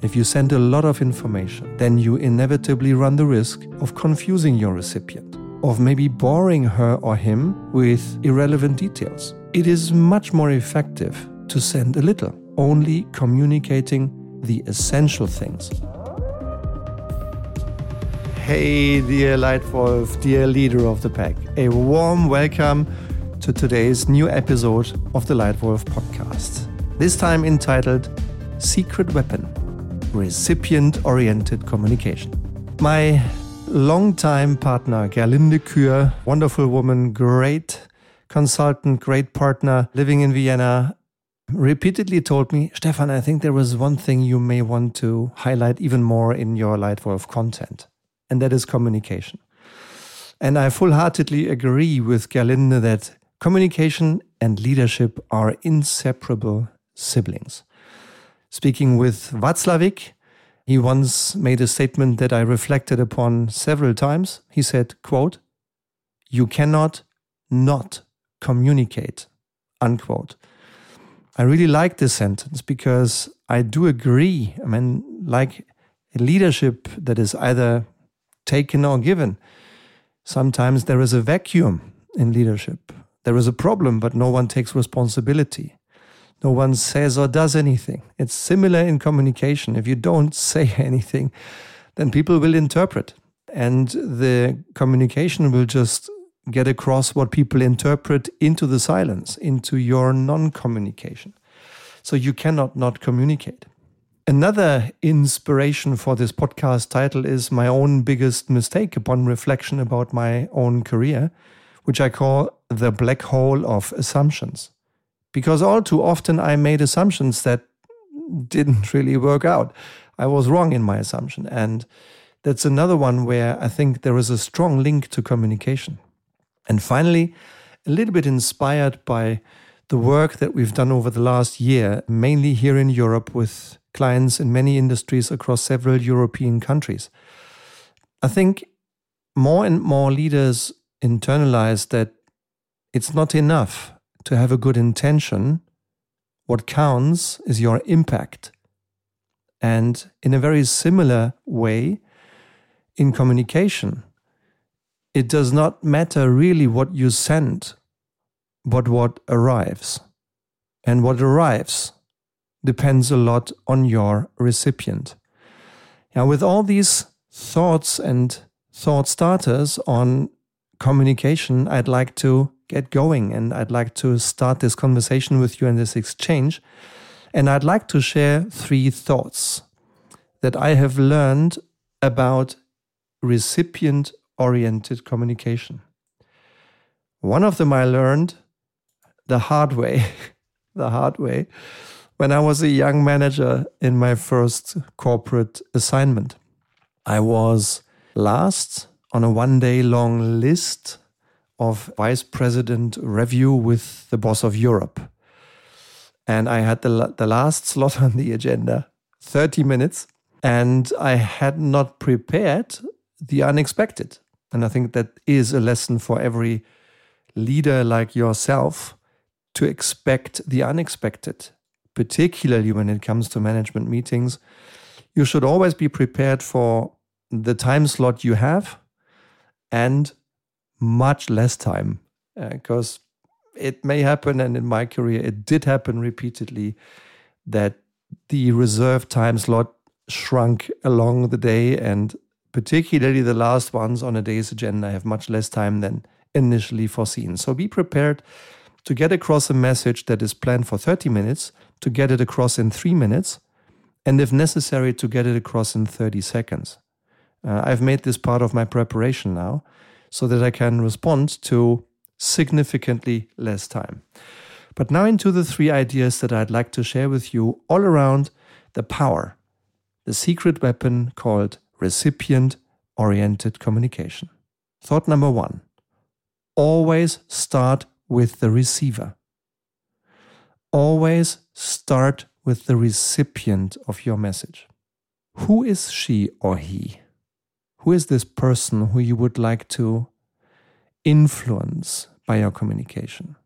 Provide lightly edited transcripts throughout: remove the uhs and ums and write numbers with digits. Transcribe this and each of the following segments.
if you send a lot of information, then you inevitably run the risk of confusing your recipient, of maybe boring her or him with irrelevant details. It is much more effective to send a little, only communicating the essential things. Hey, dear Lightwolf, dear leader of the pack, a warm welcome to today's new episode of the Lightwolf podcast. This time entitled Secret Weapon, Recipient-Oriented Communication. My longtime partner, Gerlinde Kür, wonderful woman, great consultant, great partner, living in Vienna, repeatedly told me, Stefan, I think there was one thing you may want to highlight even more in your Lightwolf content. And that is communication. And I full-heartedly agree with Gerlinde that communication and leadership are inseparable siblings. Speaking with Václavík, he once made a statement that I reflected upon several times. He said, quote, "You cannot not communicate," unquote. I really like this sentence because I do agree. I mean, like a leadership that is either taken or given. Sometimes there is a vacuum in leadership. There is a problem, but no one takes responsibility. No one says or does anything. It's similar in communication. If you don't say anything, then people will interpret. And the communication will just get across what people interpret into the silence, into your non-communication. So you cannot not communicate. Another inspiration for this podcast title is my own biggest mistake upon reflection about my own career, which I call the black hole of assumptions. Because all too often I made assumptions that didn't really work out. I was wrong in my assumption. And that's another one where I think there is a strong link to communication. And finally, a little bit inspired by the work that we've done over the last year, mainly here in Europe with clients in many industries across several European countries. I think more and more leaders internalize that it's not enough to have a good intention. What counts is your impact. And in a very similar way, in communication, it does not matter really what you send, but what arrives. And what arrives depends a lot on your recipient. Now, with all these thoughts and thought starters on communication, I'd like to get going and I'd like to start this conversation with you and this exchange. And I'd like to share 3 thoughts that I have learned about recipient-oriented communication. One of them I learned the hard way, when I was a young manager in my first corporate assignment. I was last on a 1-day-long list of vice president review with the boss of Europe. And I had the last slot on the agenda, 30 minutes, and I had not prepared the unexpected. And I think that is a lesson for every leader like yourself, to expect the unexpected, particularly when it comes to management meetings. You should always be prepared for the time slot you have and much less time, because it may happen, and in my career it did happen repeatedly, that the reserved time slot shrunk along the day, and particularly the last ones on a day's agenda have much less time than initially foreseen. So be prepared to get across a message that is planned for 30 minutes, to get it across in 3 minutes, and if necessary, to get it across in 30 seconds. I've made this part of my preparation now, so that I can respond to significantly less time. But now into the 3 ideas that I'd like to share with you all around the power, the secret weapon called recipient-oriented communication. Thought number 1, always start with the receiver. Always start with the recipient of your message. Who is she or he? Who is this person who you would like to influence by your communication?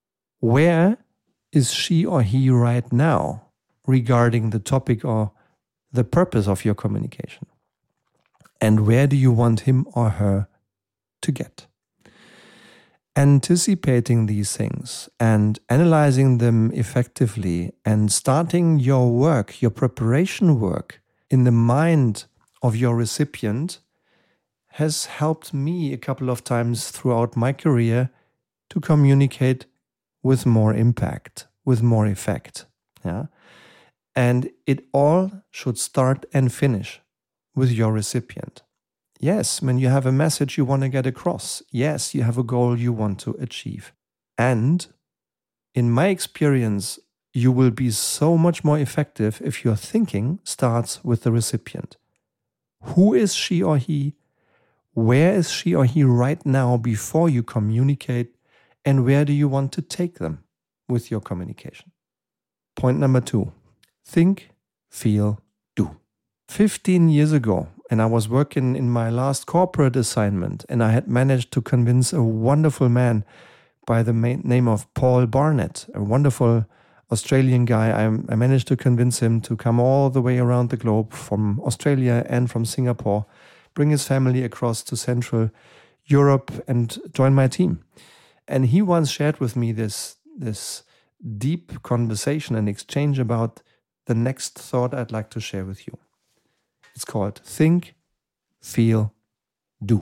Where is she or he right now regarding the topic or the purpose of your communication? And where do you want him or her to get? Anticipating these things and analyzing them effectively and starting your work, your preparation work in the mind of your recipient has helped me a couple of times throughout my career to communicate with more impact, with more effect. Yeah? And it all should start and finish with your recipient. Yes, when you have a message you want to get across. Yes, you have a goal you want to achieve. And in my experience, you will be so much more effective if your thinking starts with the recipient. Who is she or he? Where is she or he right now before you communicate? And where do you want to take them with your communication? Point number 2, think, feel, do. 15 years ago, and I was working in my last corporate assignment, and I had managed to convince a wonderful man by the name of Paul Barnett, a wonderful Australian guy. I managed to convince him to come all the way around the globe from Australia and from Singapore, bring his family across to Central Europe and join my team. And he once shared with me this deep conversation and exchange about the next thought I'd like to share with you. It's called think, feel, do.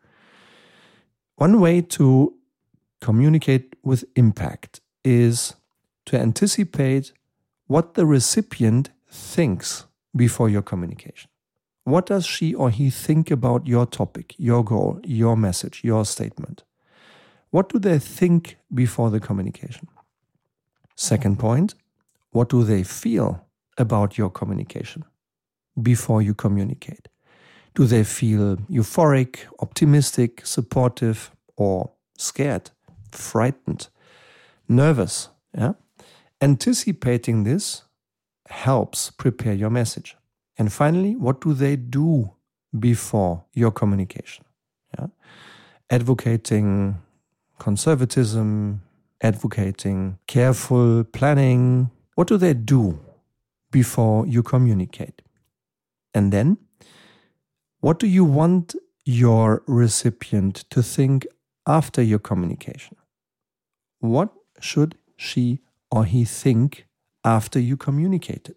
One way to communicate with impact is to anticipate what the recipient thinks before your communication. What does she or he think about your topic, your goal, your message, your statement? What do they think before the communication? Second point, what do they feel about your communication before you communicate? Do they feel euphoric, optimistic, supportive, or scared, frightened, nervous? Yeah? Anticipating this helps prepare your message. And finally, what do they do before your communication? Yeah? Advocating conservatism, advocating careful planning. What do they do before you communicate? And then, what do you want your recipient to think after your communication? What should she or he think after you communicated?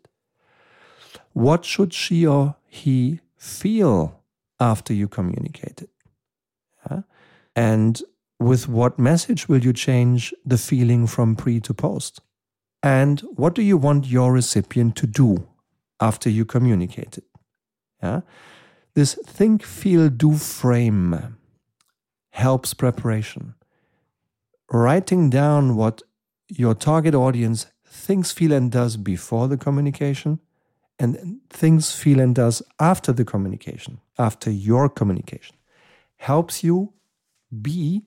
What should she or he feel after you communicated? Yeah? And with what message will you change the feeling from pre to post? And what do you want your recipient to do after you communicated? Yeah? This think, feel, do frame helps preparation. Writing down what your target audience thinks, feel, and does before the communication, and thinks, feel, and does after the communication, after your communication, helps you be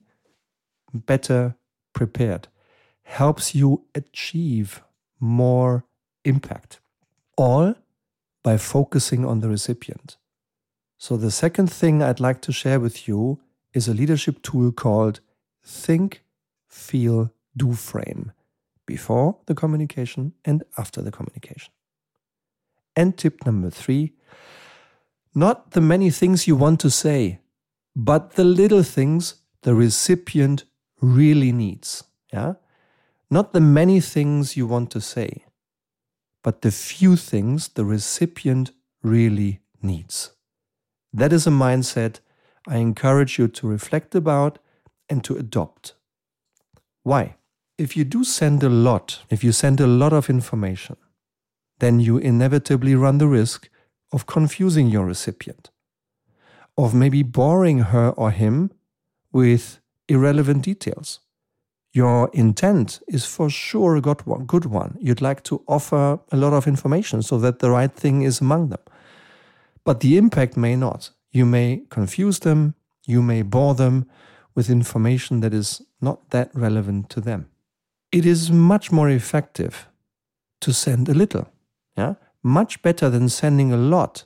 better prepared, helps you achieve more impact, all by focusing on the recipient. So the second thing I'd like to share with you is a leadership tool called Think, Feel, Do Frame, before the communication and after the communication. And tip number 3, not the many things you want to say, but the little things the recipient really needs. Yeah? Not the many things you want to say, but the few things the recipient really needs. That is a mindset I encourage you to reflect about and to adopt. Why? If you do send a lot, if you send a lot of information, then you inevitably run the risk of confusing your recipient, of maybe boring her or him with irrelevant details. Your intent is for sure a good one. You'd like to offer a lot of information so that the right thing is among them. But the impact may not. You may confuse them, you may bore them with information that is not that relevant to them. It is much more effective to send a little. Yeah? Much better than sending a lot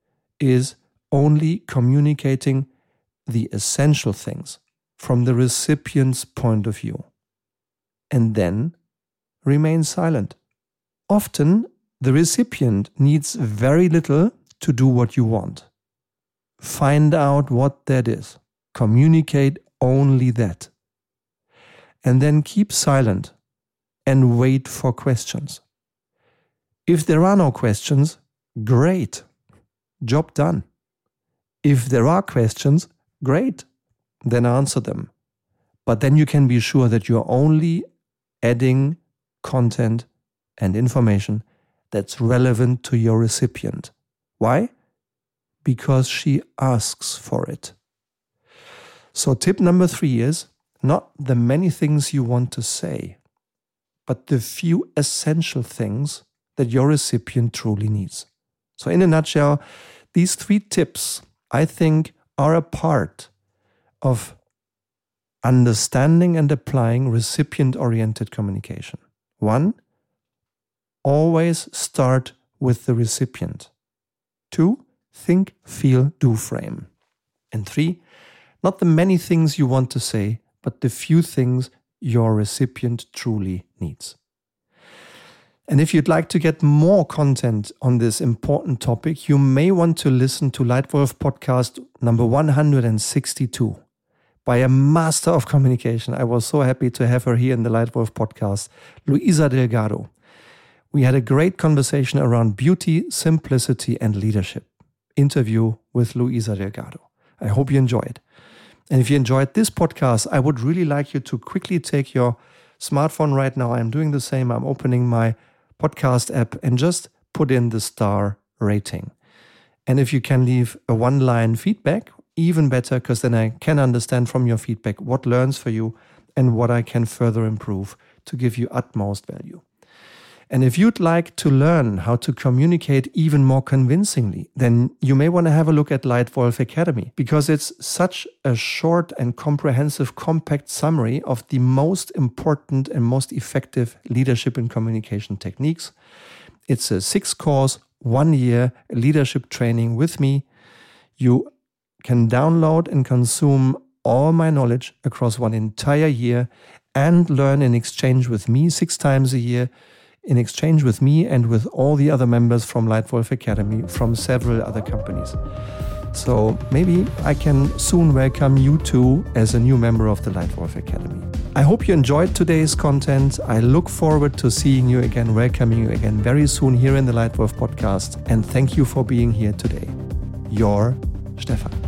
is only communicating the essential things from the recipient's point of view. And then remain silent. Often The recipient needs very little to do what you want. Find out what that is. Communicate only that. And then keep silent and wait for questions. If there are no questions, great. Job done. If there are questions, great. Then answer them. But then you can be sure that you're only adding content and information that's relevant to your recipient. Why? Because she asks for it. So tip number 3 is not the many things you want to say, but the few essential things that your recipient truly needs. So in a nutshell, these 3 tips, I think, are a part of understanding and applying recipient-oriented communication. 1, always start with the recipient. 2, think, feel, do frame. And 3, not the many things you want to say, but the few things your recipient truly needs. And if you'd like to get more content on this important topic, you may want to listen to Lightwolf podcast number 162 by a master of communication. I was so happy to have her here in the Lightwolf podcast, Luisa Delgado. We had a great conversation around beauty, simplicity, and leadership. Interview with Luisa Delgado. I hope you enjoyed. And if you enjoyed this podcast, I would really like you to quickly take your smartphone right now. I'm doing the same. I'm opening my podcast app and just put in the star rating. And if you can leave a 1-line feedback, even better, because then I can understand from your feedback what learns for you and what I can further improve to give you utmost value. And if you'd like to learn how to communicate even more convincingly, then you may want to have a look at Lightwolf Academy, because it's such a short and comprehensive, compact summary of the most important and most effective leadership and communication techniques. It's a 6-course, 1-year leadership training with me. You can download and consume all my knowledge across 1 entire year and learn in exchange with me 6 times a year, in exchange with me and with all the other members from Lightwolf Academy from several other companies. So maybe I can soon welcome you too as a new member of the Lightwolf Academy. I hope you enjoyed today's content. I look forward to seeing you again, welcoming you again very soon here in the Lightwolf podcast. And thank you for being here today. Your Stefan.